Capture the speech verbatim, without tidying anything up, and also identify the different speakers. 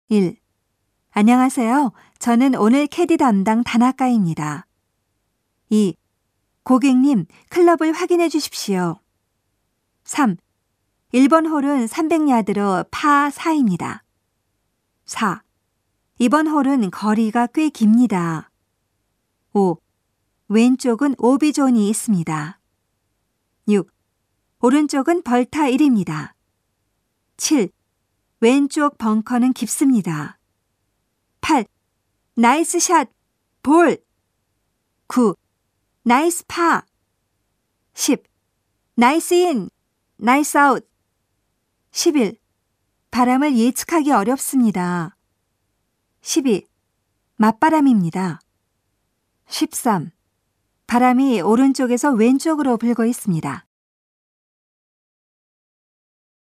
Speaker 1: 일. 안녕하세요. 저는 오늘 캐디 담당 다나카입니다. 이. 고객님, 클럽을 확인해 주십시오. 삼. 일 번 홀은 삼백 야드로 파 사입니다. 사. 이번 홀은 거리가 꽤 깁니다. 오. 왼쪽은 오비존이 있습니다. 육. 오른쪽은 벌타 일입니다. 칠. 왼쪽 벙커는 깊습니다. 팔. 나이스 샷, 볼. 구. 나이스 파. 십. 나이스 인, 나이스 아웃. 십일. 바람을 예측하기 어렵습니다. 십이. 맞바람입니다. 십삼. 바람이 오른쪽에서 왼쪽으로 불고 있습니다.